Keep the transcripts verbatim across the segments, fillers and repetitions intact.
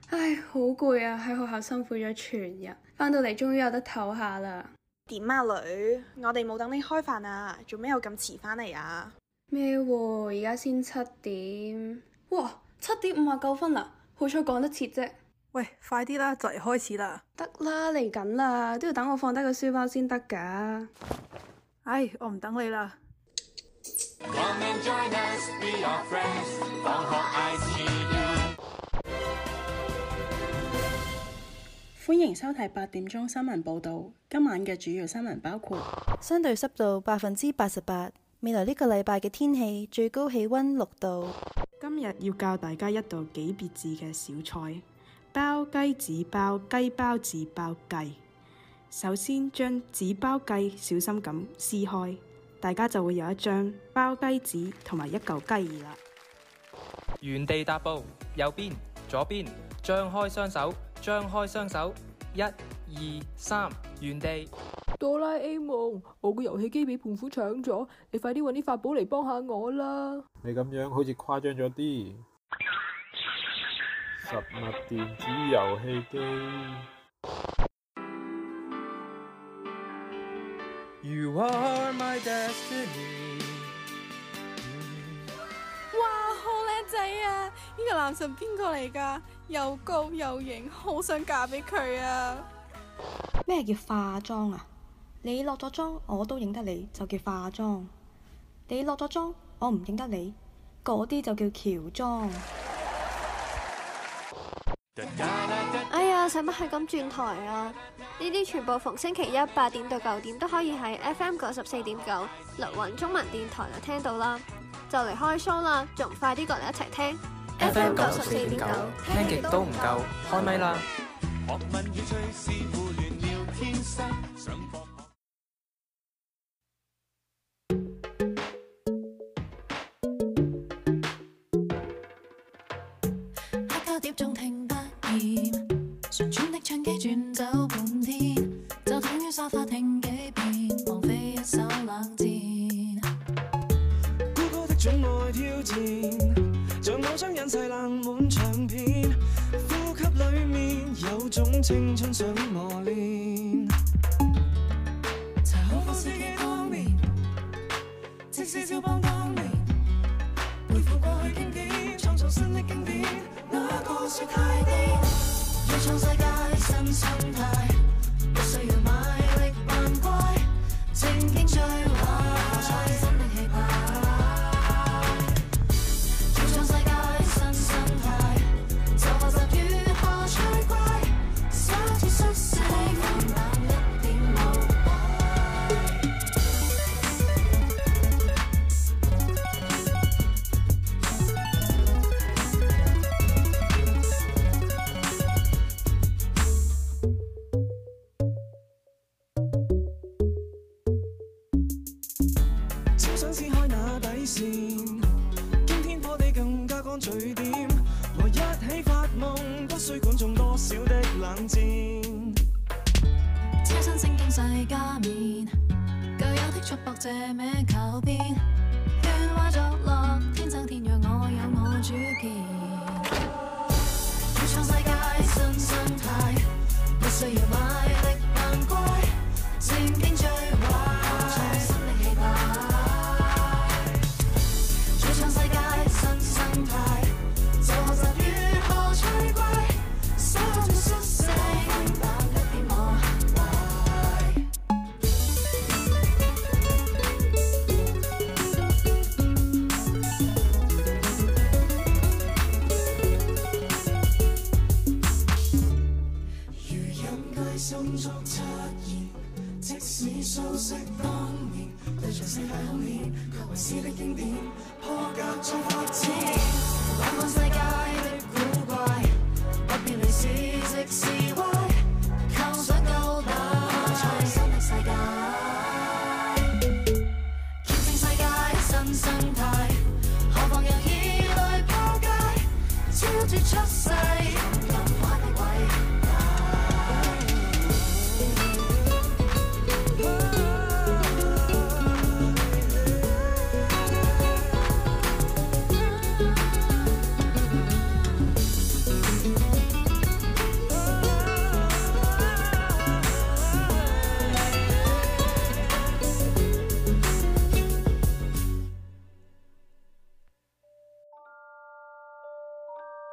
唉，好攰啊！喺學校辛苦咗全日，返到嚟終於有得唞下啦。 點啊女？我哋冇等你開飯啊，做咩又咁遲返嚟啊？ 咩喎？而家先七點。哇，七點五十九分啦，好彩趕得切啫。 喂，快啲啦，就嚟開始啦。 得啦，嚟緊啦，都要等我放低個書包先得噶。 唉，我唔等你啦。 Come and join us, be our friends. 放學 I see you。 歡迎收睇八點鐘新聞報道。今晚嘅主要新聞包括： 相對濕度百分之八十八。未來呢個禮拜嘅天氣最高氣溫六度。 今日要教大家一道幾別致嘅小菜。包雞紙包雞包紙包雞，首先將紙包雞小心咁撕開，大家就會有一張包雞紙同埋一嚿雞翼啦。 原地踏步，右邊、左邊，張開雙手，張開雙手，一、二、三，原地。 哆啦 A 夢，我個遊戲機俾胖虎搶咗，你快啲搵啲法寶嚟幫下我啦！ 你咁樣好似誇張咗啲。實物電子遊戲機。 You are my destiny。 哇，好靚仔啊！呢個男神邊個嚟㗎？又高又型，好想嫁俾佢啊！ 咩叫化妝啊？你落咗妝我都認得你，就叫化妝；你落咗妝我唔認得你，嗰啲就叫喬裝。 哎呀，使乜係咁轉台啊？呢啲全部逢星期一八點到九點都可以喺 F M 九十四點九綠雲中文電台就聽到啦。就嚟開 show 啦，仲唔快啲過嚟一齊聽 F M 九十四點九，聽極都唔夠，開咪啦！ 碟中聽不厭，旋轉的唱機轉走半天，就等於沙發聽幾遍，枉費一手冷戰。 孤高的寵愛挑戰，像偶像人世冷門唱片，呼吸裡面有種青春想磨練。 查好方式幾多年，即使肖邦當年，背負過去經典，創造新的經典。說太癲，要創世界新生態，不需要賣力扮乖，正經最壞，創新的氣派。要創世界新生態，就學習如何趣怪，灑脫率性，但一點無驚天破地更加乾脆點，和一起發夢，不需管中多少的冷戰。 車身聖經世家面，舊有的束縛這名靠邊，喧嘩作樂，天生天養我有我主見。要創世界新生態，不需要賣力扮乖，正經最壞，創新的氣派。 心中出現，即使熟悉當年，對着世界空氣，卻為詩的經典，破格再發展。 玩看世界的古怪，不必理是直是歪，構想高大，創新的世界，見證世界新生態，何妨讓異類破戒，超絕出世，任快的偉大。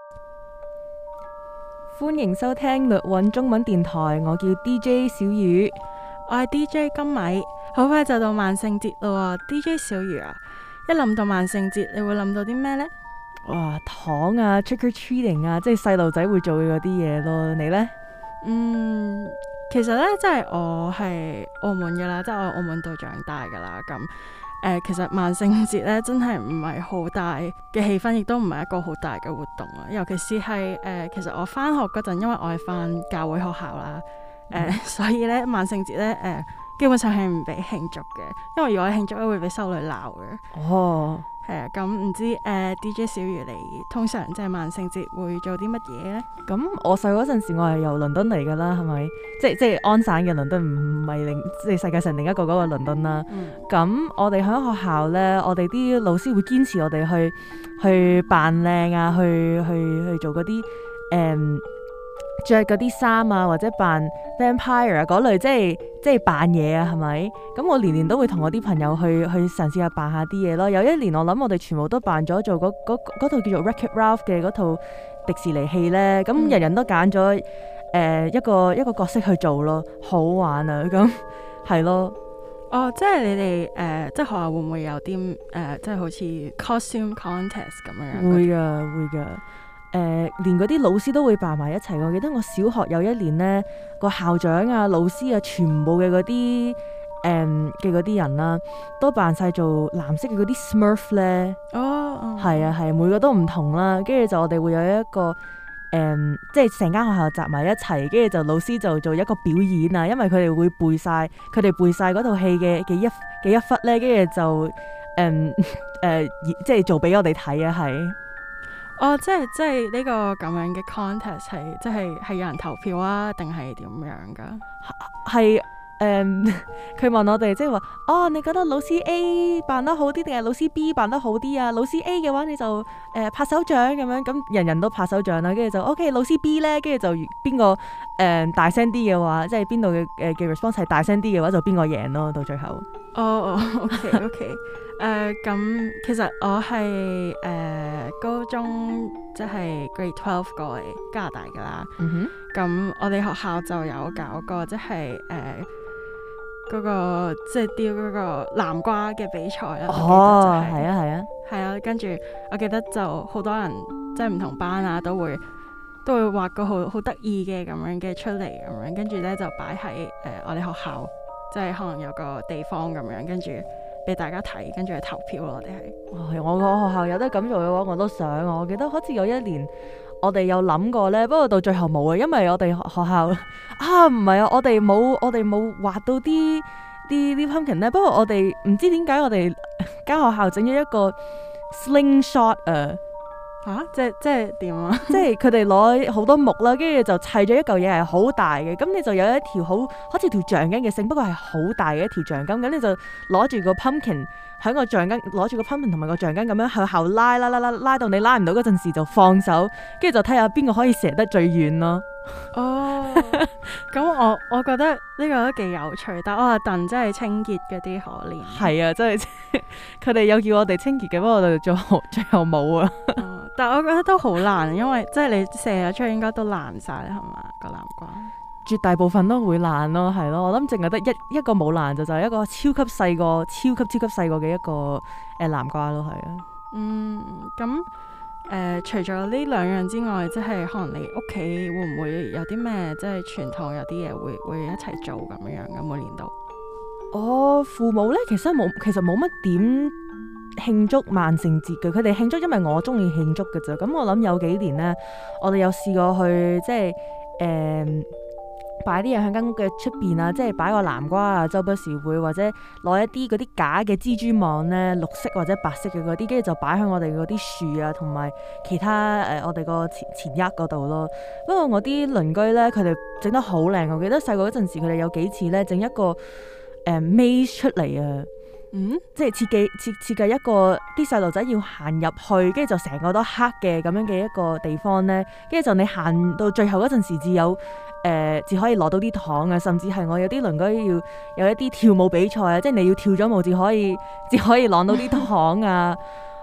歡迎收聽律韻中文電台，我叫 D J 小魚， 我係 D J 金米。好快就到萬聖節咯喎，D J 小魚啊！一諗到萬聖節，你會諗到啲咩呢？ 哇，糖啊 trick or treating 啊，即係細路仔會做嘅嗰啲嘢咯。你呢？ 嗯，其實呢，即係我係澳門嘅啦，即係我喺澳門度長大噶啦。咁誒、呃，其實萬聖節呢，真係唔係好大嘅氣氛，亦都唔係一個好大嘅活動啊。尤其是係誒、呃，其實我翻學嗰陣，因為我係翻教會學校啦，誒、呃，嗯、所以呢，萬聖節呢，誒、呃，基本上係唔俾慶祝嘅，因為如果慶祝咧會俾修女鬧嘅。哦。係啊，咁唔知誒、呃、D J 小魚你通常即係萬聖節會做啲乜嘢咧？ 咁我細嗰陣時，我係由倫敦嚟噶啦，係咪？即係即係安省嘅倫敦，唔係另即係世界上另一個嗰個倫敦啦。咁、嗯、我哋喺學校咧，我哋啲老師會堅持我哋去去扮靚啊，去去去做嗰啲誒着嗰啲衫啊，或者扮 vampire 啊嗰類，即係即係扮嘢啊，係咪？咁我年年都會同我啲朋友去去嘗試下扮下啲嘢咯。有一年我諗我哋全部都扮咗做嗰嗰套叫做 Wreck-It Ralph 嘅嗰套迪士尼戲咧，咁、嗯、人人都揀咗誒一個一個角色去做咯，好玩啊！咁係咯。 哦，即係你哋誒、呃，即係學校會唔會有啲誒、呃，即係好似 costume contest 咁樣？ 會噶，會噶。誒、呃，連嗰啲老師都會扮埋一齊。我記得我小學有一年呢，個校長啊、老師啊，全部嘅嗰啲誒嘅嗰啲人啦、啊，都扮晒做藍色嘅嗰啲 Smurf 咧。哦，係啊，係、啊，每個都唔同啦。跟住就我哋會有一個誒、嗯，即係成間學校集埋一齊，跟住就老師就做一個表演啊。因為佢哋會背晒，佢哋背晒嗰套戲嘅嘅一嘅一忽咧，跟住就誒誒、嗯呃，即係做俾我哋睇啊，係。 哦，即係即係呢個咁樣嘅 contest 係，即係係有人投票啊，定係點樣噶？ 係誒，佢問我哋即係話，哦，你覺得老師 A 扮得好啲，定係老師 B 扮得好啲啊？老師 A 嘅話，你就誒、呃、拍手掌咁樣，咁人人都拍手掌啦，跟住就 OK。老師 B 咧，跟住就邊個誒大聲啲嘅話，即係邊度嘅誒嘅 response 係大聲啲嘅話，就邊個贏咯，到最後。 哦哦，OK OK。誒咁、呃，其實我係誒、呃、高中即係 Grade Twelve 過嚟加拿大噶啦。嗯哼。咁我哋學校就有搞過，即係誒嗰個即係雕嗰個南瓜嘅比賽啦。哦，係、就是、啊，係啊。係啊，跟住我記得就好多人即係唔同班啊，都會都會畫個好好得意嘅咁樣嘅出嚟咁樣，跟住咧就擺喺誒我哋學校，即係可能有個地方咁樣，跟住俾大家睇，跟住去投票咯。我哋係， 我個學校有得咁做嘅話，我都想。我記得好似有一年，我哋有諗過呢，不過到最後冇啊，因為我哋學校啊，唔係啊，我哋冇，我哋冇畫到啲啲啲 pumpkin 呢。不過我哋唔知點解，我哋間學校整咗一個 slingshot 啊。 吓，即係即係點啊？ 即係佢哋攞好多木啦，跟住就砌咗一嚿嘢係好大嘅，咁你就有一條好好似條橡筋嘅繩，不過係好大嘅一條橡筋，咁你就攞住個 pumpkin 喺個橡筋，攞住個 pumpkin 同埋個橡筋咁樣向後拉拉拉拉拉到你拉唔到嗰陣時就放手，跟住就睇下邊個可以射得最遠咯。 哦，咁我我覺得呢個都幾有趣，但係我阿鄧真係清潔嗰啲可憐。 係啊，真係佢哋有叫我哋清潔嘅，不過我哋最後最後冇啊。 哦，但係我覺得都好難，因為即係你射咗出去應該都爛晒啦，係嘛，個南瓜？ 絕大部分都會爛咯，係咯。我諗淨係得一一個冇爛就就係一個超級細個、超級超級細個嘅一個誒南瓜咯，係啊。 嗯，咁。誒、呃，除咗呢兩樣之外，即係可能你屋企會唔會有啲咩，即係傳統有啲嘢會會一齊做咁樣樣嘅每年度？ 我父母咧，其實冇，其實冇乜點慶祝萬聖節嘅。佢哋慶祝，因為我中意慶祝嘅啫。咁我諗有幾年咧，我哋有試過去，即係誒。呃擺啲嘢喺間屋嘅出邊啊，即係擺個南瓜啊，周不時會或者攞一啲嗰啲假嘅蜘蛛網咧，綠色或者白色嘅嗰啲，跟住就擺喺我哋嗰啲樹啊，同埋其他誒、呃、我哋個前前額嗰度咯。不過我啲鄰居咧，佢哋整得好靚。我記得細個嗰陣時，佢哋有幾次咧整一個誒、呃、maze 出嚟啊。嗯，即係設計設設計一個啲細路仔要行入去，跟住就成個都黑嘅咁樣嘅一個地方咧，跟住就你行到最後嗰陣時，至有誒至可以攞到啲糖啊，甚至係我有啲鄰居要有一啲跳舞比賽啊，即係你要跳咗舞至可以至可以攞到啲糖啊，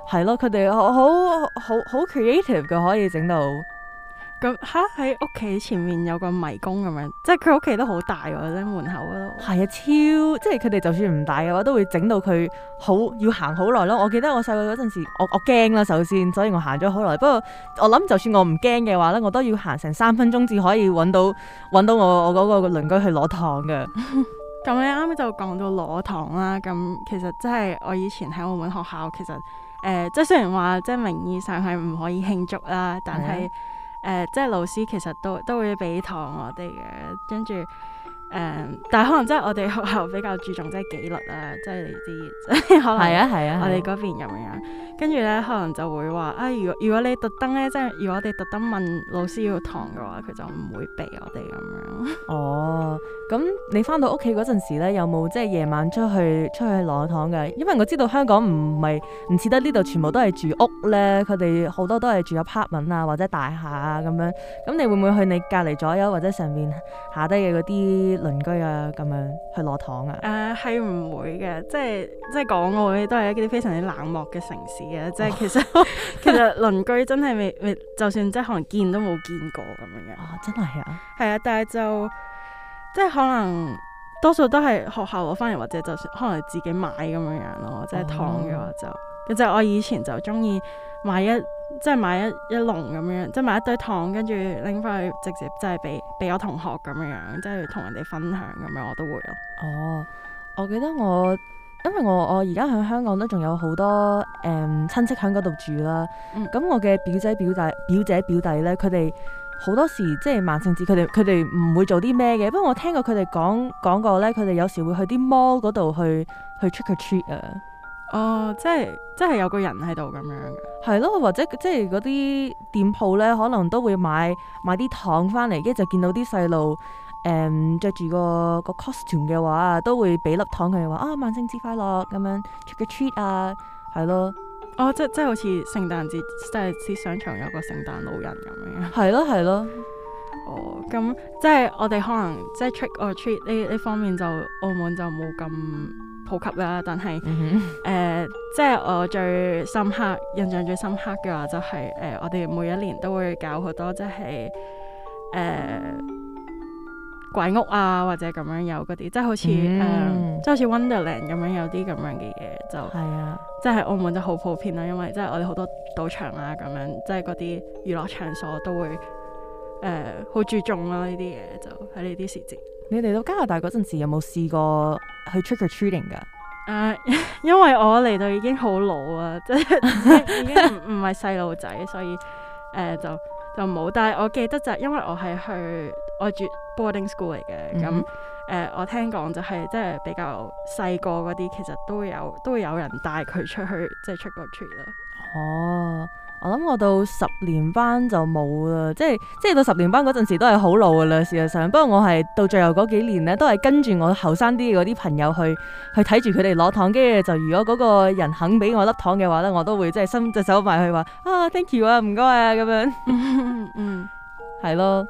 係咯，佢哋好好好好 creative 嘅，可以整到。 咁嚇喺屋企前面有個迷宮咁樣，即係佢屋企都好大喎，喺門口嗰度。 係啊，超即係佢哋就算唔大嘅話，都會整到佢好要行好耐咯。我記得我細個嗰陣時，我我驚啦，首先，所以我行咗好耐。不過我諗，就算我唔驚嘅話咧，我都要行成三分鐘至可以揾到揾到我我嗰個鄰居去攞糖嘅。 咁你啱啱就講到攞糖啦，咁其實即係我以前喺澳門學校，其實誒、呃、即係雖然話即係名義上係唔可以慶祝啦，但係。誒、呃，即係老師其實都都會俾糖我哋嘅，跟住誒，但係可能即係我哋學校比較注重即係紀律啊，即係你知，即係可能係啊係啊，我哋嗰邊咁樣，跟住咧可能就會話啊，如果如果你特登咧，即係如果我哋特登問老師要糖嘅話，佢就唔會俾我哋咁樣。 哦，咁你翻到屋企嗰陣時咧，有冇即係夜晚出去出去攞糖嘅？因為我知道香港唔係唔似得呢度全部都係住屋咧，佢哋好多都係住 apartment 啊或者大廈啊咁樣。咁你會唔會去你隔離左右或者上面下低嘅嗰啲鄰居啊咁樣去攞糖啊？ 誒係唔會嘅，即係即係港澳咧都係一啲非常之冷漠嘅城市嘅，即係其實、哦、其實鄰居真係未未，就算即係可能見都冇見過咁樣嘅。 啊，真係啊！ 係啊，但係就即係可能多數都係學校攞翻嚟，或者就算可能自己買咁樣樣咯。即係糖嘅話就，其實、哦、我以前就中意買一即係買一一籠咁樣，即係買一堆糖，跟住拎翻去直接即係俾俾我同學咁樣樣，即係同人哋分享咁樣，我都會咯。 哦，我記得我。因為我我而家喺香港都仲有好多誒、嗯、親戚喺嗰度住啦，咁、嗯、我嘅表姐表弟表姐表弟咧，佢哋好多時即係萬聖節，佢哋佢哋唔會做啲咩嘅。不過我聽過佢哋講講過咧，佢哋有時會去啲 mall 嗰度去去 trick or treat 啊。 哦，即係即係有個人喺度咁樣嘅。 係咯，或者即係嗰啲店鋪咧，可能都會買買啲糖翻嚟，跟住就見到啲細路。誒著住個個 costume 嘅話，都會俾粒糖佢哋話啊，萬聖節快樂咁樣 trick or treat 啊，係咯。 哦，即即係好似聖誕節，即係啲商場有個聖誕老人咁樣。 係咯係咯。 哦，咁即係我哋可能即係 trick or treat 呢呢方面就澳門就冇咁普及啦，但係誒、嗯呃、即係我最深刻印象最深刻嘅話就係、是、誒、呃、我哋每一年都會搞好多即係誒。呃鬼屋啊，或者咁樣有嗰啲，即係好似誒，即係好似 Wonderland 咁樣有啲咁樣嘅嘢，就係啊，即係澳門就好普遍啦，因為即係我哋好多賭場啊咁樣，即係嗰啲娛樂場所都會誒好、呃、注重啦呢啲嘢，就喺呢啲時節。 你嚟到加拿大嗰陣時，有冇試過去 trick or treating 㗎？誒、 呃，因為我嚟到已經好老啊，即係已經唔唔係細路仔，所以誒、呃、就就冇。但係我記得就係因為我係去我住 boarding school 嚟嘅，咁誒、嗯呃、我聽講就係即係比較細個嗰啲，其實都會有都會有人帶佢出去即係 trick or treat 啦。 哦，我諗我到十年班就冇啦，即係即係到十年班嗰陣時都係好老噶啦，事實上。不過我係到最後嗰幾年咧，都係跟住我後生啲嘅嗰啲朋友去去睇住佢哋攞糖，跟住就如果嗰個人肯俾我粒糖嘅話咧，我都會即係伸隻手埋去話啊 thank you 啊，唔該啊咁樣。嗯，係咯。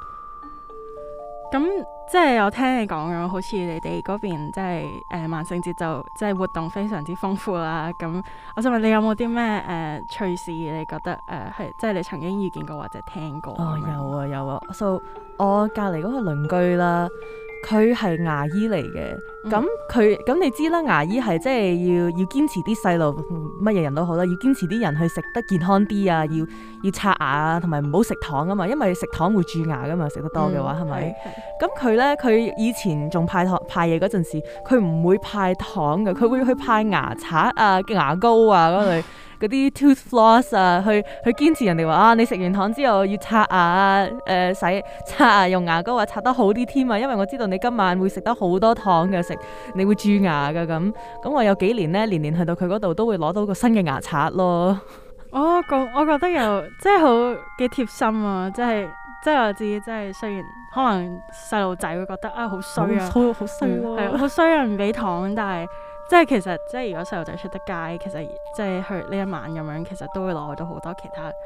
咁即係有聽你講嘅，好似你哋嗰邊即係誒萬聖節就即係活動非常之豐富啦。咁我想問你有冇啲咩誒趣事？你覺得誒係、呃、即係你曾經遇見過或者聽過？哦， 有啊有啊。So 我隔離嗰個鄰居啦，佢係牙醫嚟嘅。咁佢咁你知啦，牙醫係即係要要堅持啲細路乜嘢人都好啦，要堅持啲人去食得健康啲啊，要要刷牙啊，同埋唔好食糖啊嘛，因為食糖會蛀牙噶嘛，食得多嘅話係咪？咁佢咧佢以前仲派糖派嘢嗰陣時，佢唔會派糖嘅，佢會去派牙刷啊、牙膏啊嗰類。嗰啲 tooth floss 啊，去去堅持人哋話啊，你食完糖之後要刷牙啊，誒、呃、洗刷牙用牙膏啊，刷得好啲添啊，因為我知道你今晚會食得好多糖嘅，食你會蛀牙㗎咁。咁我有幾年咧，年年去到佢嗰度都會攞到個新嘅牙刷咯。 哦，咁我覺得又即係好幾貼心啊，即係即係我自己，即係雖然可能細路仔會覺得啊好衰啊，好好衰咯，係好衰人唔俾糖，但係。即係其實，即係如果細路仔出得街，其實即係去呢一晚咁樣，其實都會攞到好多其他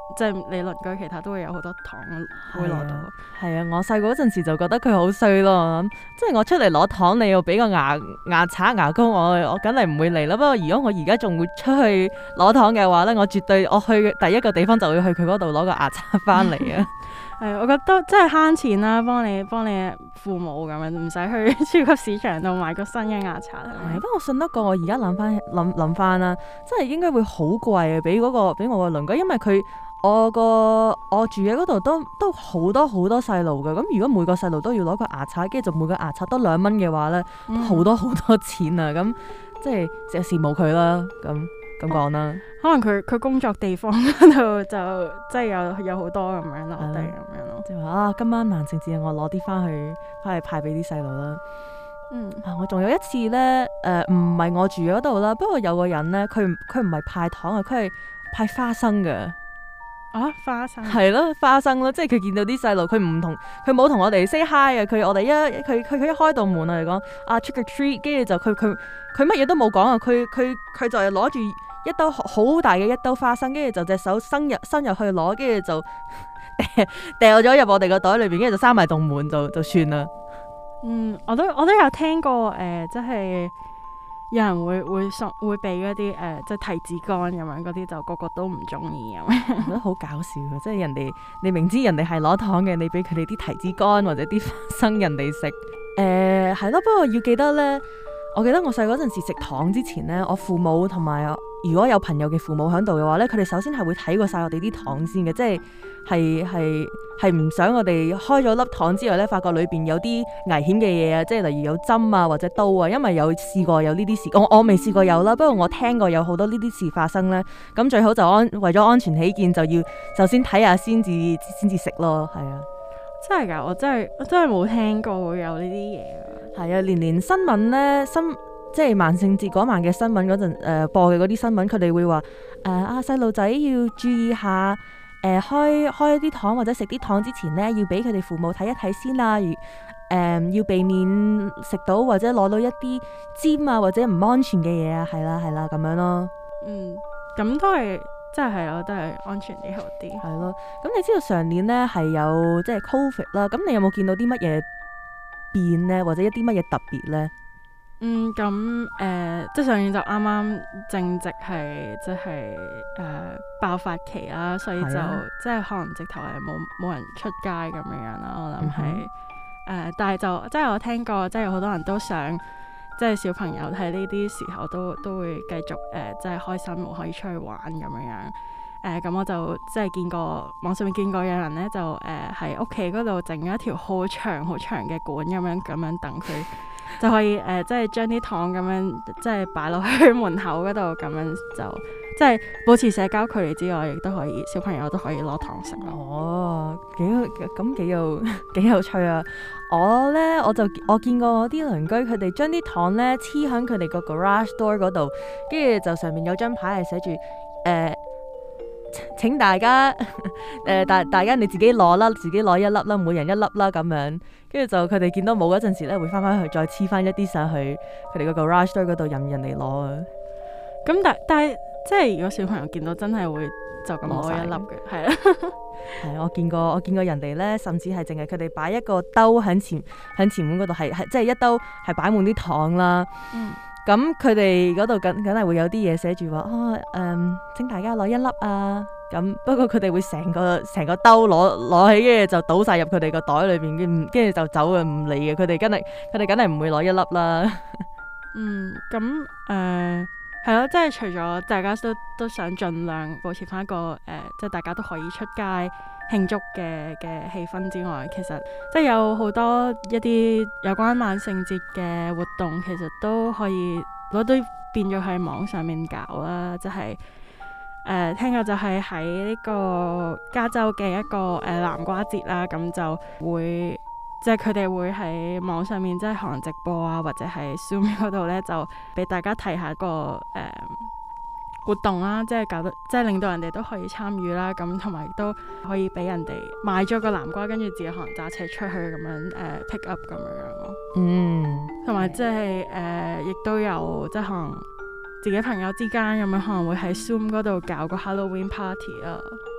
即係你鄰居其他都會有好多糖會攞到。 係啊，我細個嗰陣時就覺得佢好衰咯，即係我出嚟攞糖，你要俾個牙牙刷牙膏我，我梗係唔會嚟啦。不過如果我而家仲會出去攞糖嘅話咧，我絕對我去第一個地方就會去佢嗰度攞個牙刷翻嚟啊。 係，我覺得真係慳錢啦，幫你幫你父母咁樣，唔使去超級市場度買個新嘅牙刷。 係，不過我信得過，我而家諗翻諗諗翻啦，真係應該會好貴啊！俾嗰個俾我個鄰居，因為佢我個我住嘅嗰度都都好多好多細路㗎。咁如果每個細路都要攞個牙刷，跟住就每個牙刷多兩蚊嘅話咧，都好多好多錢啊！咁即係成日羨慕佢啦，咁咁講啦。 可能佢佢工作地方嗰度就即係有有好多咁樣落地咁樣咯。 即係話啊，今晚萬聖節我攞啲翻去翻去派俾啲細路啦。 嗯， 啊，我仲有一次咧，誒唔係我住嗰度啦，不過有個人咧，佢佢唔係派糖啊，佢係派花生㗎。 啊，花生係咯，花生咯，即係佢見到啲細路，佢唔同佢冇同我哋 say hi 啊，佢我哋一佢佢佢一開道門嚟講啊 trick or treat，跟住就佢佢佢乜嘢都冇講啊，佢佢佢就係攞住一兜好大嘅一兜花生，跟住就隻手伸入伸入去攞，跟住就掉咗入我哋個袋裏邊，跟住就閂埋棟門就就算啦。 嗯，我都我都有聽過誒、呃，即係有人會會送會俾嗰啲誒，即係提子乾咁樣，嗰啲就個個都唔中意咁樣， 我覺得好搞笑嘅，即係人哋你明知人哋係攞糖嘅，你俾佢哋啲提子乾或者啲花生人哋食，誒係咯。不過要記得咧，我記得我細嗰陣時食糖之前咧，我父母同埋如果有朋友嘅父母喺度嘅話咧，佢哋首先係會睇過晒我哋啲糖先嘅，即係係係係唔想我哋開咗粒糖之後咧，發覺裏邊有啲危險嘅嘢啊，即係例如有針啊或者刀啊，因為有試過有呢啲事，我我未試過有啦，不過我聽過有好多呢啲事發生咧，咁最好就安為咗安全起見，就要首先睇下先至先至食咯，係啊， 真係㗎，我真係我真係冇聽過會有呢啲嘢啊， 係啊，連連新聞咧新。即係萬聖節嗰晚嘅新聞嗰陣，誒、呃、播嘅嗰啲新聞，佢哋會話誒、呃、啊細路仔要注意下，誒、呃、開開啲糖或者食啲糖之前咧，要俾佢哋父母睇一睇先啦。如誒、呃、要避免食到或者攞到一啲尖啊或者唔安全嘅嘢啊，係啦係啦咁樣咯。 嗯，咁都係真係係咯，都係安全啲好啲。 係咯，咁你知道上年咧係有即係 Covid 啦，咁你有冇見到啲乜嘢變咧，或者一啲乜嘢特別咧？ 嗯，咁誒、呃，即係上年就啱啱正值係即係誒、呃、爆發期啦，所以就、啊、即係可能直頭係冇冇人出街咁樣樣啦。我諗係誒，但係就即係我聽過，即係有好多人都想，即係小朋友喺呢啲時候都都會繼續誒、呃，即係開心，可以出去玩咁樣樣。誒、呃，咁我就即係見過網上面見過有人咧，就誒喺屋企嗰度整咗一條好長好長嘅管咁樣咁樣等佢。就可以誒、呃，即係將啲糖咁樣，即係擺落去門口嗰度，咁樣就即係保持社交距離之外，亦都可以小朋友都可以攞糖食咯。 哦，幾咁幾有幾有趣啊！我咧我就我見過我啲鄰居，佢哋將啲糖咧黐喺佢哋個 garage door 嗰度，跟住就上面有張牌係寫住誒。呃請大家誒大、呃、大家你自己攞啦，自己攞一粒啦，每人一粒啦咁樣，跟住就佢哋見到冇嗰陣時咧，會翻翻去再黐翻一啲上去佢哋個 garage door 嗰度任人哋攞啊。 咁但但係即係如果小朋友見到真係會就咁攞一粒嘅，係啦。 係我見過我見過人哋咧，甚至係淨係佢哋擺一個兜喺前喺前門嗰度，係係即係一兜係擺滿啲糖啦。嗯。咁佢哋嗰度梗梗係會有啲嘢寫住話啊，誒，請大家攞一粒啊。咁不過佢哋會成個成個兜攞攞起，跟住就倒晒入佢哋個袋裏邊，跟跟住就走嘅，唔理嘅。佢哋梗係佢哋梗係唔會攞一粒啦。 嗯，咁誒係咯，即係除咗大家都都想盡量保持翻一個誒、呃，即係大家都可以出街慶祝嘅嘅氣氛之外，其實即係有好多一啲有關萬聖節嘅活動，其實都可以攞都變咗喺網上面搞啦。即係誒、呃、聽過就係喺呢個加州嘅一個誒、呃、南瓜節啦，咁就會即係佢哋會喺網上面即係可能直播啊，或者係 Zoom 嗰度咧，就俾大家睇下個誒、呃活動啦，即係搞到，即係令到人哋都可以參與啦，咁同埋都可以俾人哋買咗個南瓜，跟住自己可能揸車出去咁樣誒、呃、pick up 咁樣樣咯。嗯，同埋即係誒，亦都有即係可能自己朋友之間咁樣可能會喺 Zoom 嗰度搞個 Halloween party 啊。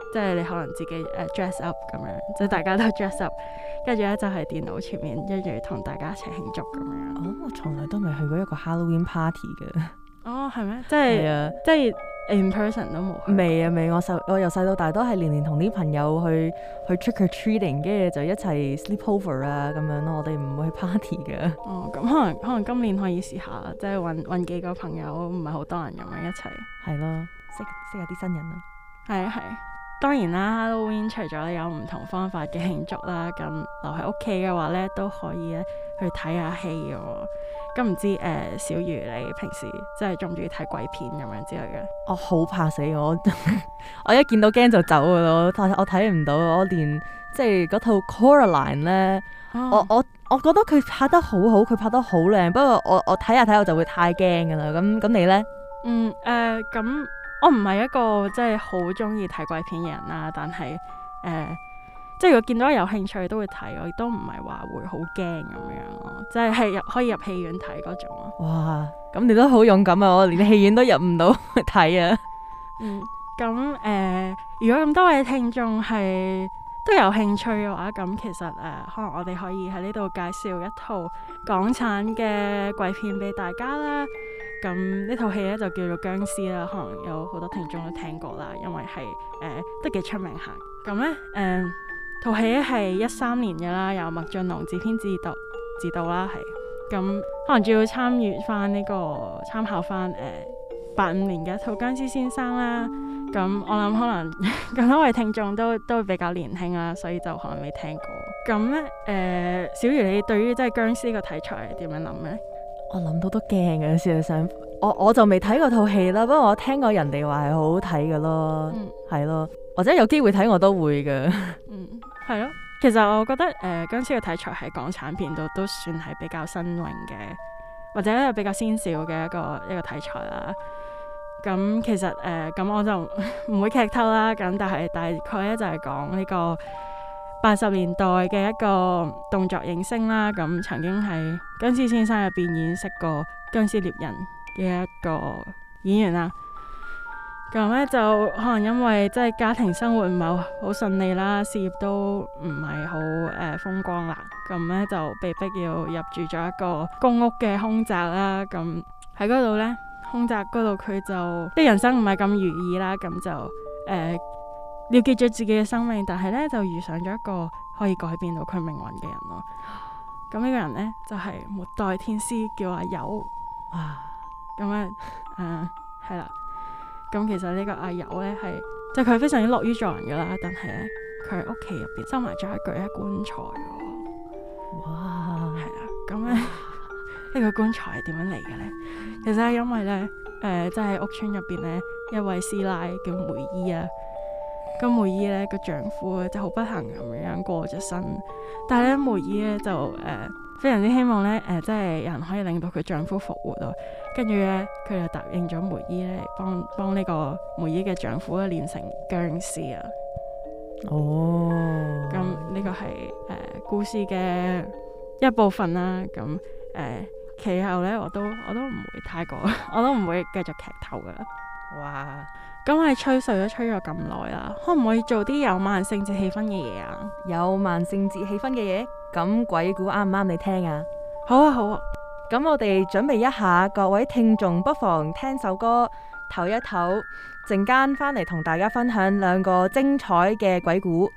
即係你可能自己誒、uh, dress up 咁樣，即係大家都 dress up， 跟住咧就係電腦前面跟住同大家一齊慶祝咁樣。 哦，我從來都未去過一個 Halloween party 嘅。 哦，係咩？即係啊， 即係 in person 都冇去。 未啊未，我細我由細到大都係年年同啲朋友去去 trick or treating， 跟住就一齊 sleep over 啊咁樣咯。我哋唔會去 party 嘅。 哦，咁可能可能今年可以試下，即係揾揾幾個朋友，唔係好多人咁樣一齊。 係咯，識識下啲新人啊。 係啊係。當然啦 ，Halloween 除咗有唔同方法嘅慶祝啦，咁留喺屋企嘅話咧，都可以咧去睇下戲嘅。咁唔知誒、呃，小魚你平時即係中唔中意睇鬼片咁樣之類嘅？ 我好怕死我，我一見到驚就走噶咯，我睇唔到，我連即係嗰套 Coraline 咧、哦，我我我覺得佢拍得好好，佢拍得好靚，不過我我睇下睇我就會太驚噶啦。咁咁你咧？ 嗯誒，咁、呃。我唔係一個即係好中意睇鬼片嘅人啦，但係誒、呃，即係如果見到有興趣都會睇，我亦都唔係話會好驚咁樣咯，即係係入可以入戲院睇嗰種咯。 哇，咁你都好勇敢啊！我連戲院都入唔到去睇啊。 嗯，咁誒、呃，如果咁多位聽眾係都有興趣嘅話，咁其實誒、呃，可能我哋可以喺呢度介紹一套港產嘅鬼片俾大家啦。咁呢套戲咧就叫做僵屍啦，可能有好多聽眾都聽過啦，因為係誒、呃、都幾出名下。咁咧誒套戲咧係一三年嘅啦，由麥浚龍自編自導自導啦，係咁可能仲要參與翻呢、這個參考翻誒八五年嘅一套僵屍先生啦。咁我諗可能咁多位聽眾都都比較年輕啦，所以就可能未聽過。咁咧誒小魚你對於即係僵屍個題材係點樣諗咧？ 我諗到都驚嘅，事實上，我我就未睇過套戲啦，不過我聽過人哋話係好好睇嘅咯，係、嗯、咯，或者有機會睇我都會嘅。 嗯，係咯，其實我覺得誒、呃、僵屍嘅題材喺港產片度都算係比較新穎嘅，或者比較先兆嘅一個一個題材啦。咁其實誒咁、呃、我就唔會劇透啦，咁但係大概咧就係講呢個八十年代嘅一個動作影星啦，咁曾經喺僵屍先生入邊演飾過僵屍獵人嘅一個演員啦。咁咧就可能因為即係家庭生活唔係好順利啦，事業都唔係好誒風光啦，咁咧就被逼要入住咗一個公屋嘅凶宅啦。咁喺嗰度咧，凶宅嗰度佢就啲人生唔係咁如意啦，咁就誒。呃了結咗自己嘅生命，但係咧就遇上咗一個可以改變到佢命運嘅人咯。咁呢個人咧就係、是、末代天師，叫阿友。哇！咁咧誒係啦。咁其實呢個阿友咧係即係佢非常之樂於助人噶啦，但係咧佢喺屋企入邊收埋咗一具一棺材喎。哇！係啦。咁咧呢個棺材係點樣嚟嘅咧？其實係因為咧誒即係屋村入邊咧一位師奶叫梅姨啊。咁梅姨咧個丈夫咧就好不幸咁樣過咗身，但係咧梅姨咧就誒、呃、非常之希望咧誒、呃、即係有人可以令到佢丈夫復活咯。跟住咧佢就答應咗梅姨咧幫幫呢個梅姨嘅丈夫咧練成僵屍啊。哦，咁呢個係誒、呃、故事嘅一部分啦。咁誒、呃、其後咧我都我都唔會太過，我都唔會繼續劇透噶啦。哇！咁我哋吹水都吹咗咁耐啦，可唔可以做啲有萬聖節氣氛嘅嘢啊？ 有萬聖節氣氛嘅嘢，咁鬼故啱唔啱你聽啊？ 好啊好啊， 咁我哋準備一下，各位聽眾不妨聽首歌唞一唞，陣間翻嚟同大家分享兩個精彩嘅鬼故。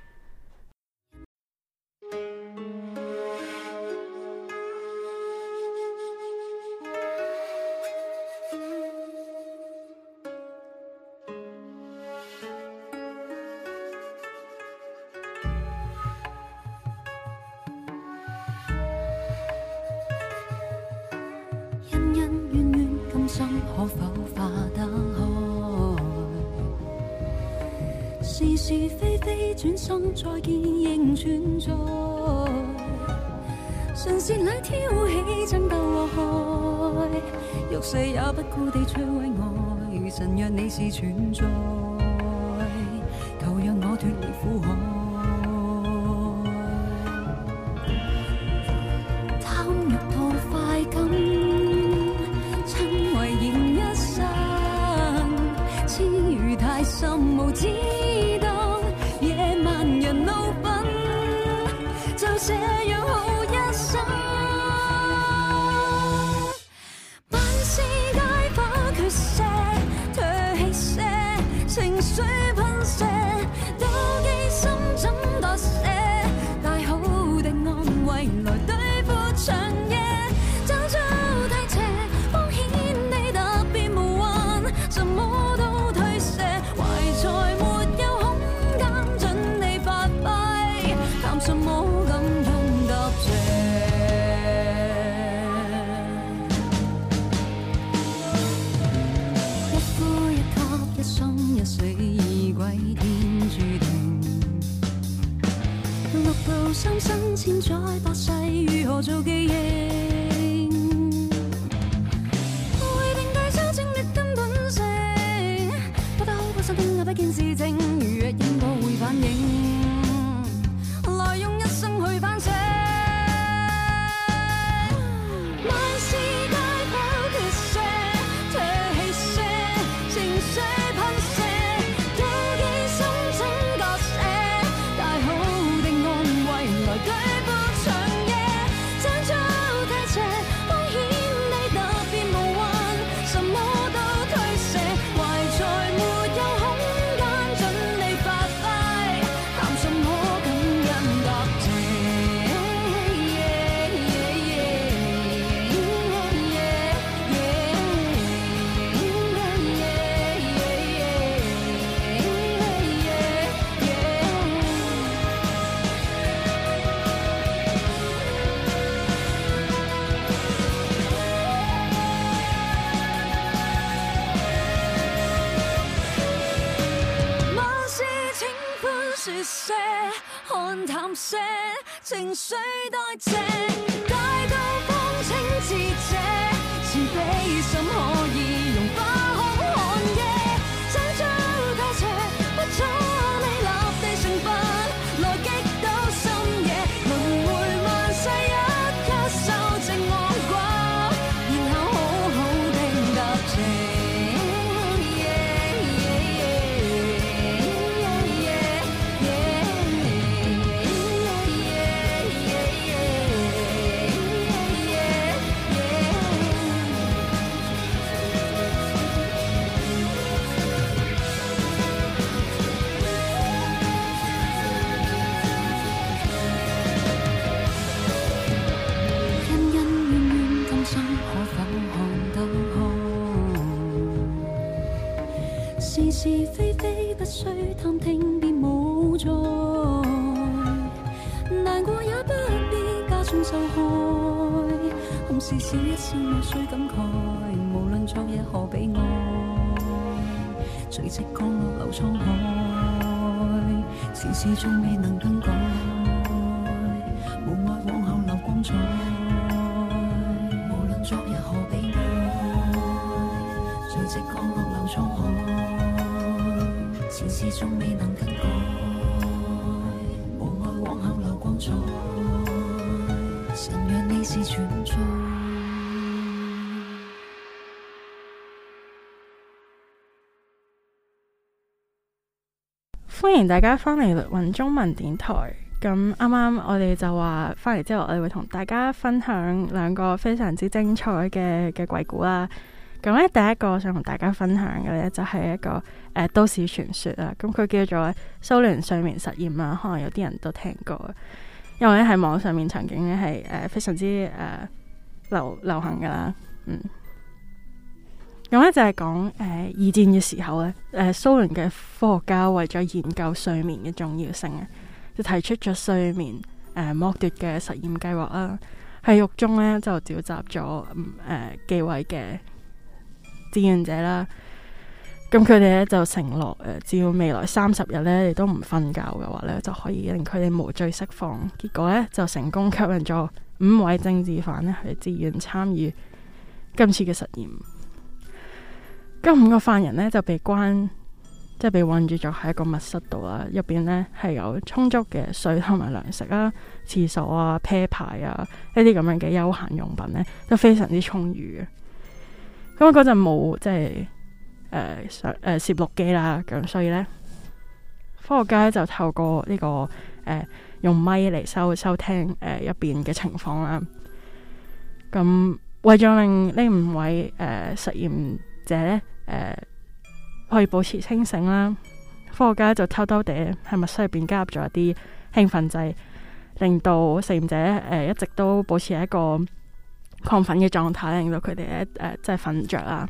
可否化得開？是是非非轉身再見仍存在。唇舌裏挑起爭鬥禍害，玉勢也不顧地摧毀愛。神若你是存在，求讓我脫離苦海。貪欲到快感。心無知道。 談什麼感恩答謝？一呼一吸，一生一死，已鬼天注定。六道三生千載百世，如何做記認？為定計修正劣根本性，不得好不想聽那不見事情，如若應該會反應。來用一生去反省，萬事皆否決瀉，唾棄瀉，情緒噴射，妒忌心整割捨，大好的安慰來舉步長夜，爭早太斜，彰顯你特別無運，什麼都推卸，懷才沒有空間準你發揮，談什麼感恩答謝？萬事請寬恕些，看淡些，情緒代謝，大道方清澈者，慈悲心可以融化空寒夜，爭早太斜，不早未立地成佛，來擊倒深夜，輪迴萬世一刻修正惡果，然後好好的答謝。恩恩怨怨，今生可否看得開？是是非非，不需探聽，便無罪。難過也不必加重受害，空是笑一笑，無需感慨。無論昨日何悲哀，隨即降落流滄海，遲遲仲未能更改。無愛往後流光彩，無論昨日何悲哀，隨即降落流滄海，遲遲仲未能更改。無愛往後流光彩，神讓你是存在。 歡迎大家翻嚟律雲中文電台。咁啱啱我哋就話翻嚟之後，我哋會同大家分享兩個非常之精彩嘅嘅鬼故啦。咁咧，第一個想同大家分享嘅咧，就係、是、一個誒、呃、都市傳說啦。咁佢叫做蘇聯睡眠實驗啦，可能有啲人都聽過，因為咧喺網上面曾經咧係誒非常之誒、呃、流流行噶啦。嗯，咁咧就係講誒二戰嘅時候咧，誒蘇聯嘅科學家為咗研究睡眠嘅重要性啊，就提出咗睡眠誒、呃、剝奪嘅實驗計劃啦。喺獄中咧就召集咗誒幾位嘅志願者啦，咁佢哋咧就承諾誒，只要未來三十日咧你都唔瞓覺嘅話咧，就可以令佢哋無罪釋放。結果咧就成功吸引咗五位政治犯咧去自願參與今次嘅實驗。咁五個犯人咧就被關，即係被困住咗喺一個密室度啦，入邊咧係有充足嘅水同埋糧食啦、廁所啊、啤牌啊呢啲咁樣嘅休閒用品咧，都非常之充裕嘅。咁嗰陣冇即係誒攝誒攝錄機啦，咁所以咧科學家就透過呢、這個誒、呃、用咪嚟收收聽誒入邊嘅情況啦。咁為咗令呢五位誒、呃、實驗者咧誒、呃、可以保持清醒啦，科學家就偷偷地喺密室入邊加入咗一啲興奮劑，令到實驗者誒、呃、一直都保持一個亢奮嘅狀態，令到佢哋咧誒即係瞓着啦。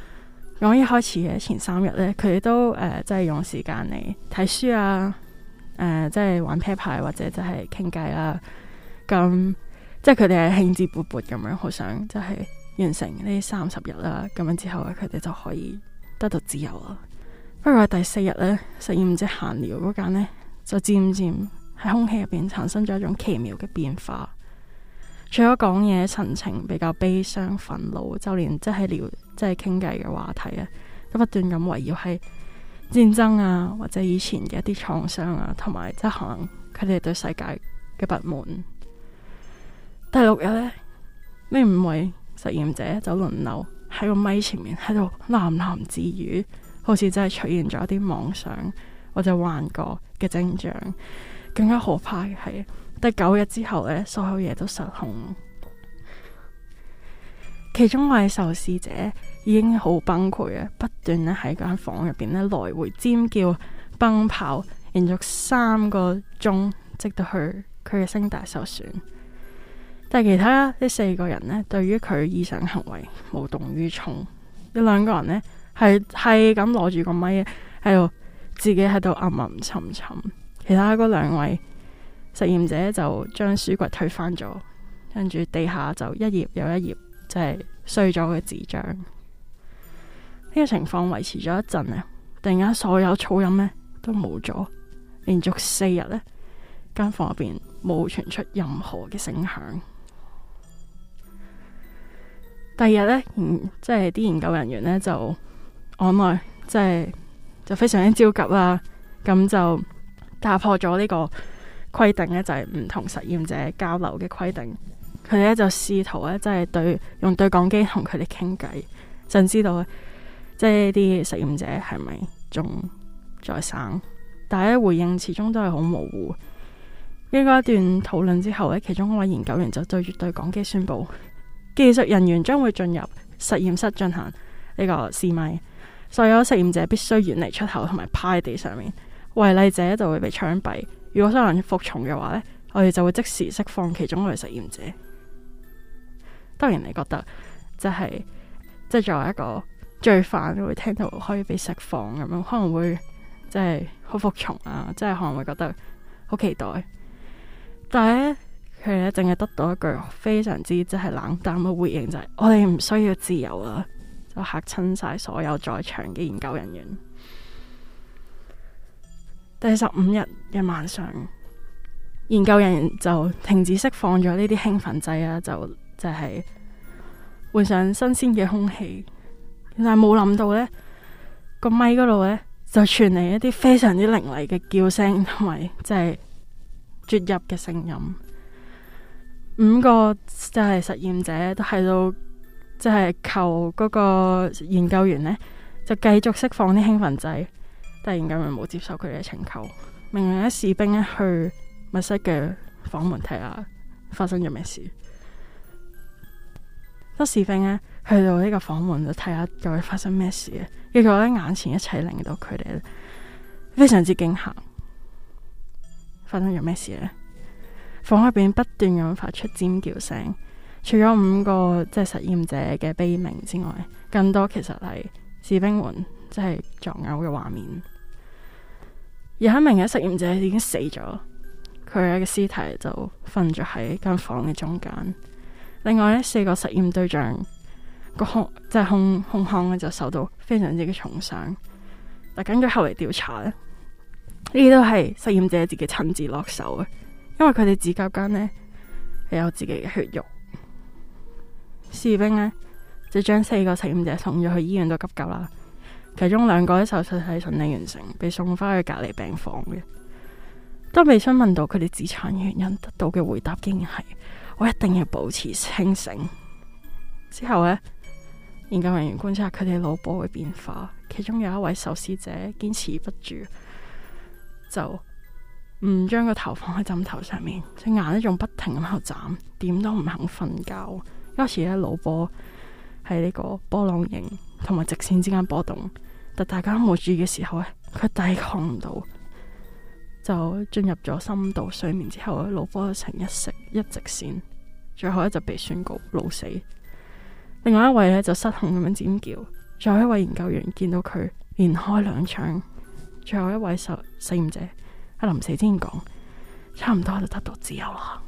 咁一開始嘅前三日咧，佢哋都誒即係用時間嚟睇書啊， 呃，即係玩啤牌或者就係傾偈啦。咁即係佢哋係興致勃勃咁樣，好想就係完成呢三十日啦。咁樣之後咧，佢哋就可以得到自由啦。不過第四日咧，實驗者閒聊嗰間呢，就漸漸喺空氣入邊產生咗一種奇妙嘅變化。除咗講嘢神情比較悲傷、憤怒，就連即係聊即係傾偈嘅話題啊，都不斷咁圍繞喺戰爭啊，或者以前嘅一啲創傷啊，同埋即係可能佢哋對世界嘅不滿。第六日呢，呢五位實驗者就輪流喺個咪前面喺度喃喃自語，好似真係出現咗一啲妄想或者幻覺嘅徵象。更加可怕嘅係第九日之後呢，所有嘢都失控。其中一位受試者已經好崩潰啊，不斷咧喺間房入邊咧來回尖叫、奔跑，連續三個鐘，直到去佢嘅聲帶受損。但係其他呢四個人呢，對於佢異常行為無動於衷。呢兩個人呢，係係咁攞住個咪喺度，自己喺度吟吟沉沉。其他嗰兩位實驗者就將書櫃推翻咗，跟住地下就一頁又一頁，就係碎咗嘅紙張。呢個情況維持咗一陣啊，突然間所有噪音呢都冇咗，連續四日呢間房入邊冇傳出任何嘅聲響。第二日呢，即係啲研究人員呢就按耐，即係就非常之焦急啦，咁就打破咗呢個規定呢，就係唔同實驗者交流嘅規定。佢哋咧就試圖咧，即係對用對講機同佢哋傾偈，想知道即係啲實驗者係咪仲在生。但係咧回應始終都係好模糊。經過一段討論之後咧，其中一位研究員就對住對講機宣布，技術人員將會進入實驗室進行呢個試咪，所有實驗者必須遠離出口同埋趴喺地上面，違例者就會被槍斃。如果有人服從嘅話呢，我哋就會即時釋放其中一位實驗者。當然你覺得即係即係作為一個罪犯會聽到可以被釋放咁樣，可能會即係好服從啊，即係可能會覺得好期待。但係咧佢哋淨係得到一句非常之即係冷淡嘅回應，就係、是、我哋唔需要自由啊，就嚇親晒所有在場嘅研究人員。第十五日嘅晚上，研究人員就停止釋放咗呢啲興奮劑啊，就就係換上新鮮嘅空氣。但係冇諗到呢個咪嗰度呢，就傳嚟一啲非常之凌厲嘅叫聲同埋即係啜泣嘅聲音。五個就係實驗者都喺度即係求嗰個研究員呢，就繼續釋放啲興奮劑。但係研究員冇接受佢哋嘅請求，命令啲士兵咧去密室嘅房門睇下發生咗咩事。當士兵咧去到呢個房門就睇下究竟發生咩事嘅，結果咧眼前一切令到佢哋非常之驚嚇。發生咗咩事呢？房入邊不斷咁發出尖叫聲，除咗五個即係實驗者嘅悲鳴之外，更多其實係士兵們即係作嘔嘅畫面。有一名嘅實驗者已經死咗，佢嘅屍體就瞓咗喺間房嘅中間。另外呢四個實驗對象個胸即係胸胸腔咧就受到非常之嘅重傷。但根據後嚟調查咧，呢啲都係實驗者自己親自落手嘅，因為佢哋指甲間呢係有自己嘅血肉。士兵呢就將四個實驗者送咗去醫院度急救啦。其中兩個喺手術係順利完成，被送翻去隔離病房嘅。當被詢問到佢哋自殘原因，得到嘅回答竟然係：我一定要保持清醒。之後呢，研究人員觀察佢哋腦波嘅變化，其中有一位受試者堅持不住，就唔將個頭放喺枕頭上面，隻眼咧仲不停咁喺度眨，點都唔肯瞓覺。有時咧腦波喺呢個波浪形同埋直線之間波動。但大家都冇注意嘅時候咧，佢抵抗唔到，就進入咗深度睡眠之後咧，腦波呈一直一直線，最後咧就被宣告腦死。另外一位咧就失控咁樣尖叫，最後一位研究員見到佢連開兩槍，最後一位實實驗者喺臨死之前講，差唔多就得到自由啦。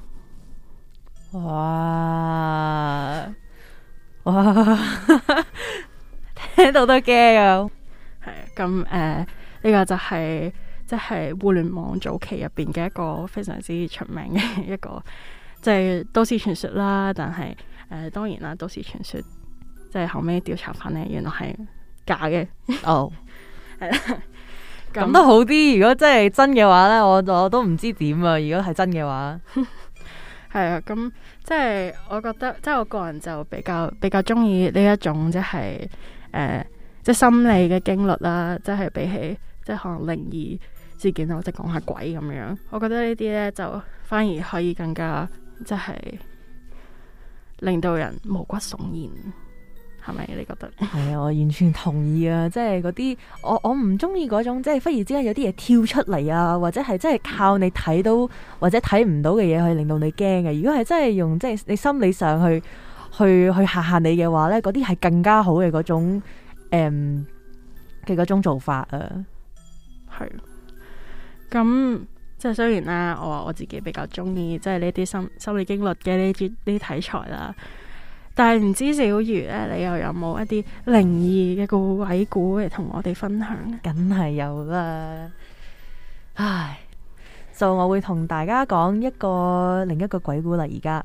哇哇，聽到都驚啊！ 係啊，咁誒呢個就係即係互聯網早期入邊嘅一個非常之出名嘅一個即係、就是、都市傳說啦。但係誒、呃、當然啦，都市傳說即係後尾調查翻咧，原來係假嘅。 哦， 係啦， 咁都好啲。如果真係真嘅話咧，我我都唔知點啊。如果係真嘅話， 係啊，咁即係我覺得，即係我個人就比較比較中意呢一種即係誒即係心理嘅經歷啦，即係比起即係可能靈異事件或者講下鬼咁樣，我覺得呢啲咧就反而可以更加即係令到人毛骨悚然。係咪你覺得？ 係啊，我完全同意啊！即係嗰啲我我唔中意嗰種，即係忽然之間有啲嘢跳出嚟啊，或者係真係靠你睇到或者睇唔到嘅嘢去令到你驚嘅。如果係真係用即係你心理上去去去嚇嚇你嘅話咧，嗰啲係更加好嘅嗰種誒嘅嗰種做法啊。 係。咁即係雖然啦，我話我自己比較中意即係呢啲心心理經歷嘅呢啲呢啲題材啦。但係唔知小魚咧，你又有冇一啲靈異嘅故鬼故嚟同我哋分享？ 梗係有啦，唉，就我會同大家講一個另一個鬼故啦。而家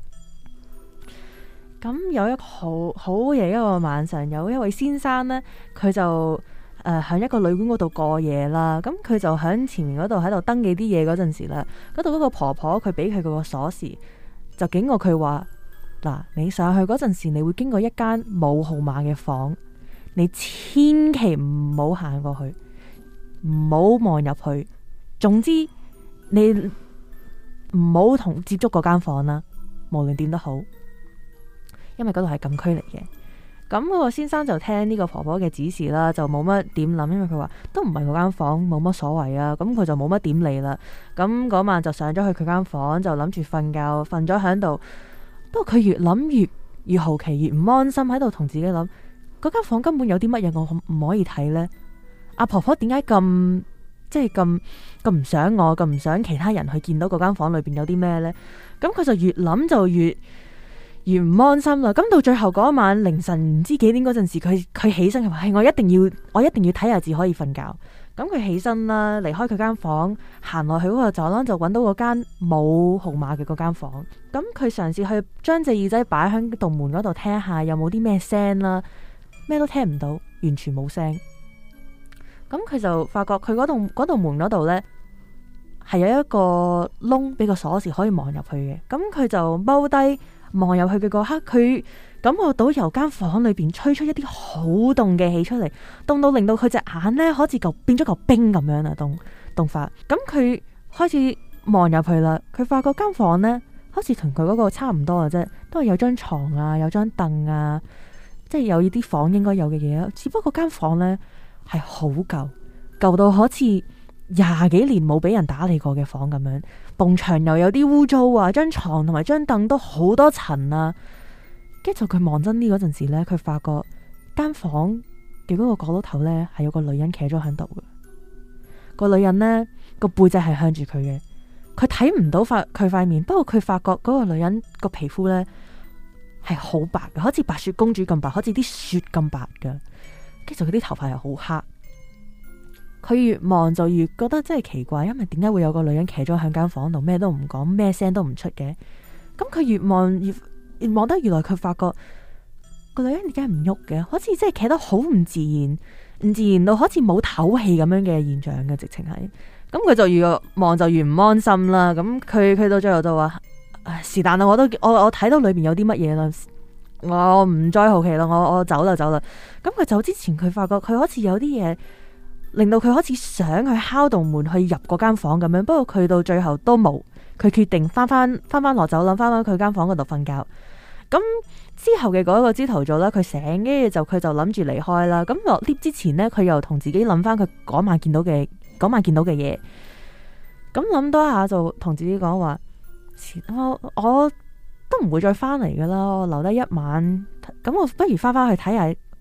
咁有一個好好夜一個晚上，有一位先生呢，佢就誒喺、呃、一個旅館嗰度過夜啦。咁佢就喺前面嗰度喺度登記啲嘢嗰陣時啦，嗰度嗰個婆婆佢俾佢嗰個鎖匙，就警告佢話。嗱，你上去嗰陣時，你會經過一間冇號碼嘅房，你千祈唔好行過去，唔好望入去。總之，你唔好同接觸嗰間房啦，無論點都好，因為嗰度係禁區嚟嘅。咁嗰個先生就聽呢個婆婆嘅指示啦，就冇乜點諗，因為佢話都唔係嗰間房，冇乜所謂啊。咁佢就冇乜點理啦。咁嗰晚就上咗去佢間房，就諗住瞓覺，瞓咗喺度。不過佢越諗越越好奇，越唔安心，喺度同自己諗，嗰間房根本有啲乜嘢我唔可以睇呢？阿婆婆點解咁即係咁咁唔想我，咁唔想其他人去見到嗰間房裏邊有啲咩呢？咁佢就越諗就越越唔安心啦。咁到最後嗰一晚凌晨唔知幾點嗰陣時，佢佢起身，佢話係我一定要我一定要睇下至可以瞓覺。咁佢起身啦，離開佢間房，行落去嗰個走廊，就揾到嗰間冇號碼嘅嗰間房。咁佢嘗試去將隻耳仔擺喺道門嗰度聽下有冇啲咩聲啦，咩都聽唔到，完全冇聲。咁佢就發覺佢嗰度嗰道門嗰度呢，係有一個窿俾個鎖匙可以望入去嘅。咁佢就踎低望入去嘅嗰刻，佢感覺到由間房裏邊吹出一啲好凍嘅氣出嚟，凍到令到佢隻眼呢好似嚿變咗嚿冰咁樣啊！凍凍法。咁佢開始望入去啦，佢發覺間房呢好似同佢嗰個差唔多嘅啫，都係有張床啊，有張凳啊，即係有啲房應該有嘅嘢啊。只不過間房呢係好舊，舊到好似廿幾年冇俾人打理過嘅房咁樣，埲牆又有啲污糟啊，張床同埋張凳都好多塵啊。跟住佢望真啲嗰陣時呢，佢發覺間房嘅嗰個角落頭呢係有個女人企咗喺度嘅。個女人呢個背脊係向住佢嘅，佢睇唔到塊佢塊面，不過佢發覺嗰個女人個皮膚呢係好白嘅，好似白雪公主咁白，好似啲雪咁白嘅。跟住佢啲頭髮係好黑。佢越望就越覺得真係奇怪，因為點解會有個女人企咗喺間房度，咩都唔講，咩聲都唔出嘅？咁佢越望越越望得，原來佢發覺個女人點解唔喐嘅？好似真係企得好唔自然，唔自然到好似冇唞氣咁樣嘅現象嘅，直情係。咁佢就越望就越唔安心啦。咁佢佢到最後就話：是但啦，我都我我睇到裏邊有啲乜嘢啦，我唔再好奇啦，我我走啦走啦。咁佢走之前，佢發覺佢好似有啲嘢。令到佢開始想去敲道門去入嗰間房咁樣，不過佢到最後都冇，佢決定翻翻翻翻落走廊，翻翻佢間房嗰度瞓覺。咁之後嘅嗰個朝頭早啦，佢醒，跟住就佢就諗住離開啦。咁落 lift 之前呢，佢又同自己諗翻佢嗰晚見到嘅嗰晚見到嘅嘢。咁諗多一下就同自己講話：我我都唔會再翻嚟噶啦，我留低一晚。咁我不如翻翻去睇下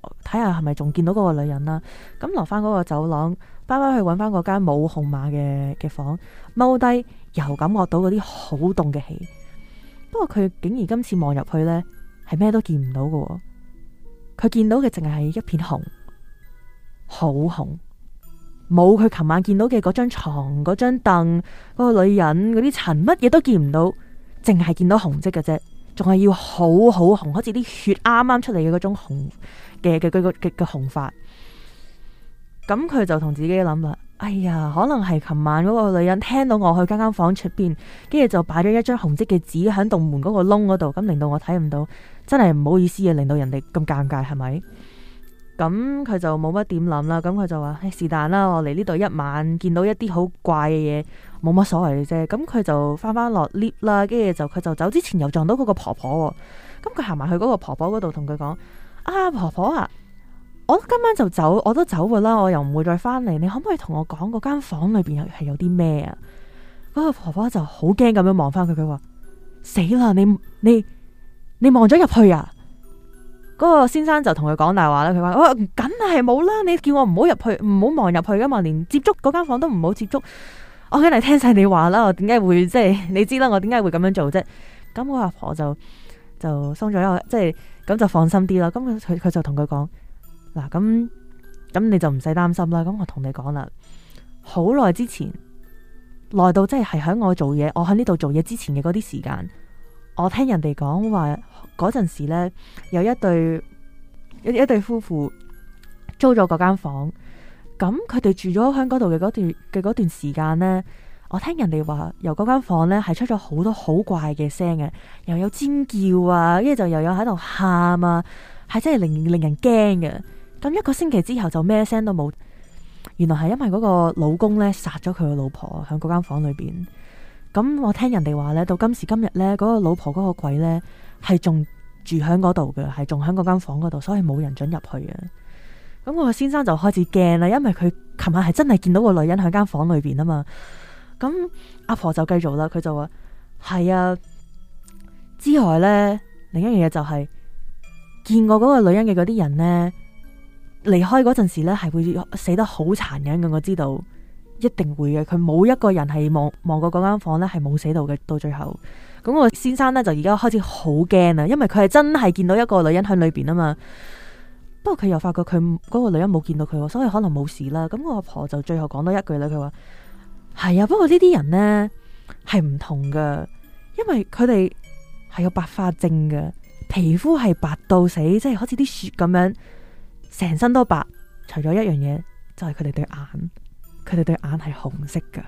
睇下係咪仲見到嗰個女人啦。咁落翻嗰個走廊，包包去揾翻嗰間冇號碼嘅嘅房，踎低又感覺到嗰啲好凍嘅氣。不過佢竟然今次望入去呢，係咩都見唔到嘅。佢見到嘅淨係一片紅，好紅，冇佢琴晚見到嘅嗰張床、嗰張凳、嗰個女人、嗰啲塵，乜嘢都見唔到，淨係見到紅色嘅啫，仲係要好好紅，好似啲血啱啱出嚟嘅嗰種紅嘅嘅嘅嘅嘅紅髮。咁佢就同自己諗啦，哎呀，可能係琴晚嗰個女人聽到我去間間房出邊，跟住就擺咗一張紅色嘅紙喺棟門嗰個窿嗰度，咁令到我睇唔到，真係唔好意思啊，令到人哋咁尷尬，係咪？咁佢就冇乜點諗啦，咁佢就話是但啦，我嚟呢度一晚見到一啲好怪嘅嘢，冇乜所謂嘅啫。咁佢就翻翻落 lift 啦，跟住就佢就走之前又撞到嗰個婆婆。咁佢行埋去嗰個婆婆嗰度同佢講：啊，婆婆啊，我今晚就走，我都走噶啦，我又唔會再翻嚟。你可唔可以同我講嗰間房裏邊係有啲咩啊？嗰個婆婆就好驚咁樣望翻佢，佢話：死啦，你你你望咗入去啊？嗰個先生就同佢講大話啦，佢話：我梗係冇啦，你叫我唔好入去，唔好望入去噶嘛，連接觸嗰間房都唔好接觸。我梗係聽晒你話啦，我點解會即係你知啦？我點解會咁樣做啫？咁我阿婆就就鬆咗一個，即係咁就放心啲啦。咁佢佢就同佢講：嗱，咁咁你就唔使擔心啦。咁我同你講啦，好耐之前，耐到即係係喺我做嘢，我喺呢度做嘢之前嘅嗰啲時間。我聽人哋講話嗰陣時呢，有一對一一對夫婦租咗嗰間房，咁佢哋住咗喺嗰度嘅嗰段嘅嗰段時間呢，我聽人哋話由嗰間房呢係出咗好多好怪嘅聲嘅，又有尖叫啊，跟住就又有喺度喊啊，係真係令令人驚嘅。咁一個星期之後就咩聲都冇，原來係因為嗰個老公呢殺咗佢個老婆喺嗰間房裏邊。咁我聽人哋話咧，到今時今日咧，嗰個老婆嗰個鬼咧係仲住喺嗰度嘅，係仲喺嗰間房嗰度，所以冇人准入去嘅。咁我個先生就開始驚啦，因為佢琴晚係真係見到個女人喺間房裏邊啊嘛。咁阿婆就繼續啦，佢就話係啊，之外咧，另一樣嘢就係見過嗰個女人嘅嗰啲人咧，離開嗰陣時咧係會死得好殘忍嘅，我知道。一定會嘅，佢冇一個人係望望過嗰間房咧，係冇死到嘅。到最後，咁我先生咧就而家開始好驚啦，因為佢係真係見到一個女人喺裏邊啊嘛。不過佢又發覺佢嗰個女人冇見到佢，所以可能冇事啦。咁我阿婆就最後講多一句啦，佢話係啊，不過呢啲人呢係唔同噶，因為佢哋係有白化症嘅，皮膚係白到死，即係好似啲雪咁樣，成身都白，除咗一樣嘢就係佢哋對眼。佢哋對眼係紅色噶，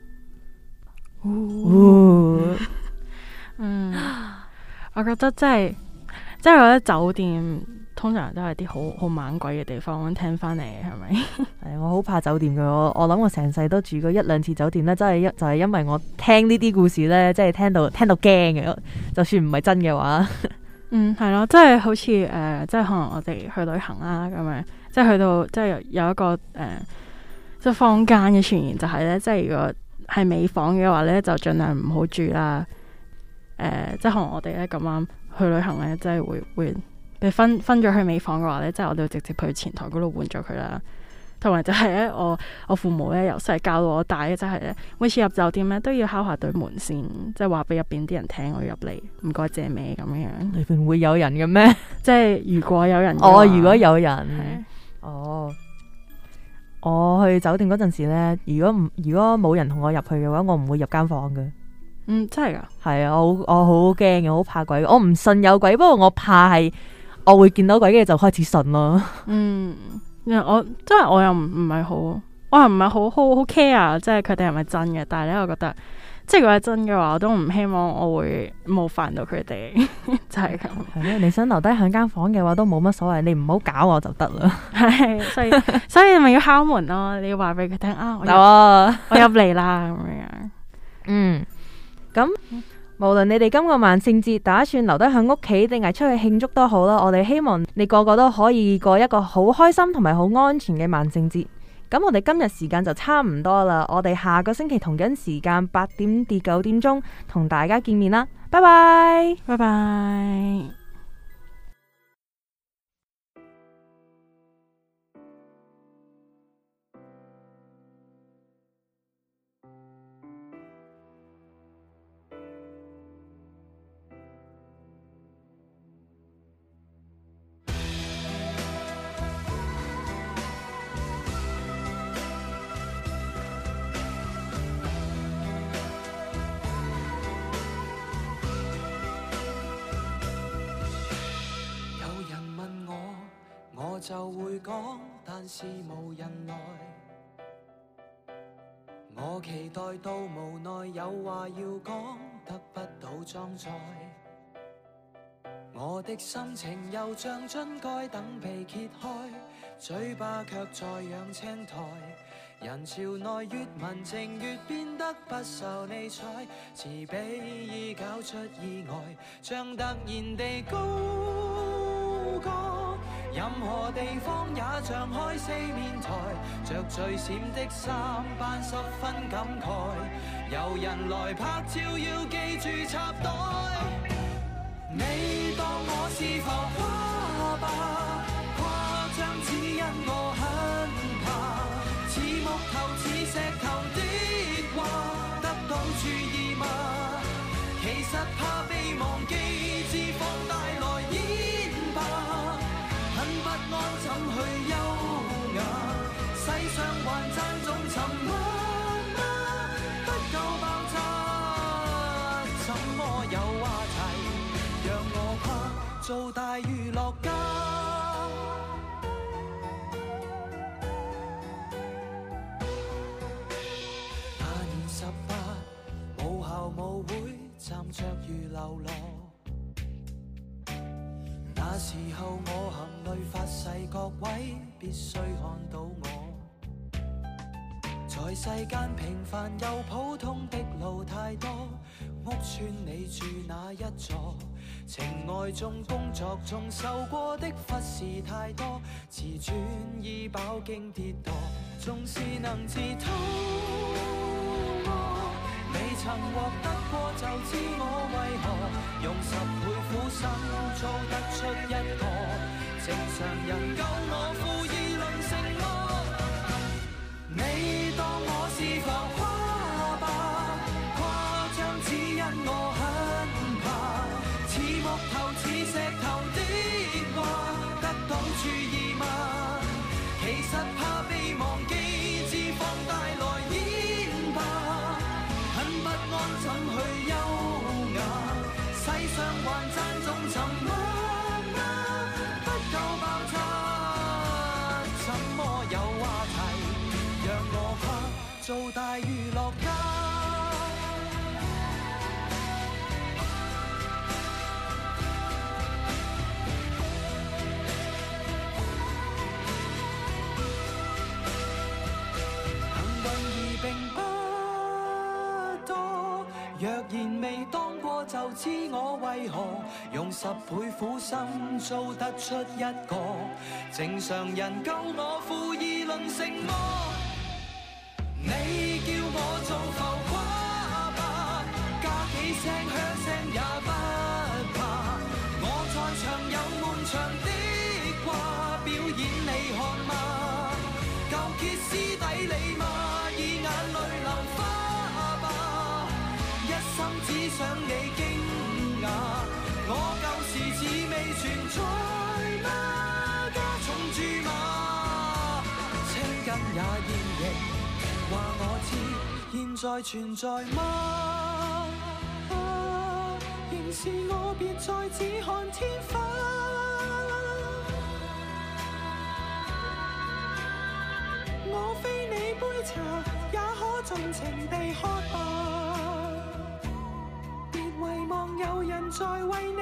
哦，嗯，我覺得真係，即係我覺得酒店通常都係啲好好猛鬼嘅地方，聽翻嚟係咪？ 係我好怕酒店嘅，我我諗我成世都住過一兩次酒店咧，真係一就係因為我聽呢啲故事咧，即係聽到聽到驚嘅，就算唔係真嘅話， 嗯，係咯，即係好似誒、呃，即係可能我哋去旅行啦咁樣，即係去到即係有，有一個誒。呃即係坊間嘅傳言就係咧，即係如果係尾房嘅話咧，就盡量唔好住啦。誒、呃，即係可能我哋咧咁啱去旅行咧，即係會會被分分咗去尾房嘅話咧，即係我哋會直接去前台嗰度換咗佢啦。同埋就係咧，我我父母咧由細教到我大嘅，就係咧每次入酒店咧都要敲下對門先，即係話俾入邊啲人聽我要入嚟，唔該借咩咁樣。 裏邊會有人嘅咩？ 即係如果有人哦，如果有人，哦。我去酒店嗰陣時咧，如果唔如果冇人同我入去嘅話，我唔會入間房嘅。 嗯，真係噶？ 係啊，我我好驚嘅，好怕鬼。我唔信有鬼，不過我怕係我會見到鬼，跟住就開始信咯。 嗯，我真係我又唔唔係好，我又唔係好好好 care，即係佢哋係咪真嘅？但係咧，我覺得即係如果係真嘅話，我都唔希望我會冒犯到佢哋，就係咁。 係咧，你想留低喺間房嘅話，都冇乜所謂，你唔好搞我就得啦。 係，所以所以你咪要敲門咯，你要話俾佢聽啊，我入我入嚟啦咁樣。 嗯，咁無論你哋今個萬聖節打算留低喺屋企定係出去慶祝都好啦，我哋希望你個個都可以過一個好開心同埋好安全嘅萬聖節。咁我哋今日時間就差唔多啦，我哋下個星期同樣時間八點至九點鐘同大家見面啦，拜拜， 拜拜。 就會講，但是無人來。我期待到無奈有話要講，得不到裝載。我的心情又像樽蓋等被揭開，嘴巴卻在養青苔。人潮內越文靜越變得不受理睬，慈悲已搞出意外，像突然地高歌。任何地方也像開四面台，着最閃的衫扮十分感慨。有人來拍照要記住插袋，你當我是浮誇吧，誇張只因我很怕。似木頭似石頭的話，得到注意嗎？其實怕被忘記，只放大來演吧。很不安怎去優雅？世上還讚頌沉默嗎？不夠爆炸，怎麼有話題？讓我跨做大娛樂家。舞會站着如流落，那時候我含淚發誓，各位必須看到我。在世間平凡又普通的路太多，屋邨你住哪一座？情愛中工作中受過的忽視太多，自尊已飽經跌墮，縱是能自討。未曾獲得過就知我為何用十倍苦心做得出一個正常人，夠我負義論成麼？你當我是浮誇吧，誇張只因我很怕。似木頭似石頭的話，得到注意嗎？其實怕被忘記，只放大來演吧。不安怎去優雅？世上還讚頌沉默嗎？不夠爆炸，怎麼有話題？讓我跨做大娛樂家。幸運兒並不若然未當過就知我為何用十倍苦心做得出一個正常人，夠我負義論成麼？你叫我做浮誇吧，加幾聲響聲也不怕。我在場有滿場的話表演你看嗎？夠歇斯底里嗎？以眼淚流花。只想你驚訝，我舊時似未存在嗎？加重注碼，青筋也現形，話我知現在存在嗎？啊，仍是我別再只看天花，我非你杯茶，也可盡情地喝吧。遺忘有人在為你